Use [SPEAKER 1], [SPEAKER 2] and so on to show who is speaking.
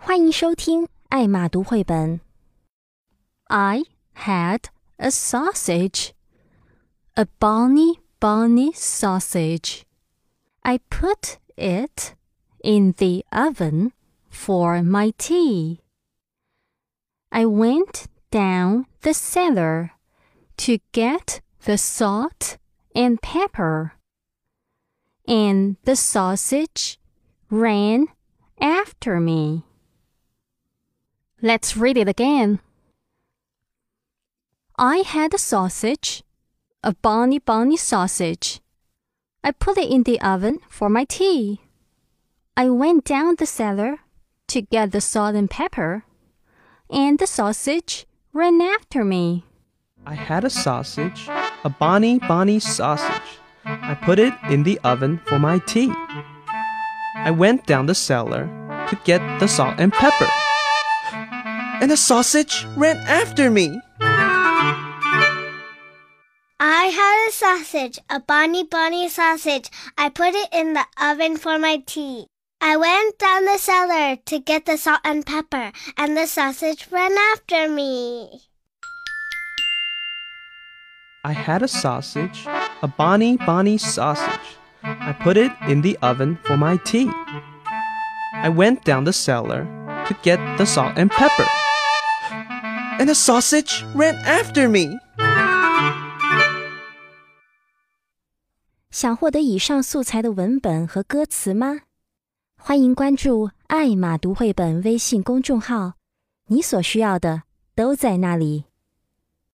[SPEAKER 1] 欢迎收听艾玛读绘本。I had a sausage, a bonny sausage. I put it in the oven for my tea. I went down the cellar to get the salt and pepper, and the sausage ran after me. Let's read it again. I had a sausage, a bonny sausage. I put it in the oven for my tea. I went down the cellar to get the salt and pepper, and the sausage ran after me.
[SPEAKER 2] I had a sausage, a bonny sausage. I put it in the oven for my tea. I went down the cellar to get the salt and pepper, and the sausage ran after me.
[SPEAKER 3] I had a sausage, a bonny sausage. I put it in the oven for my tea. I went down the cellar to get the salt and pepper, and the sausage ran after me.
[SPEAKER 2] I had a sausage, a bonny sausage. I put it in the oven for my tea. I went down the cellar to get the salt and pepper, and the sausage ran after me.
[SPEAKER 1] 想获得以上素材的文本和歌词吗？欢迎关注艾玛读绘本微信公众号，你所需要的都在那里。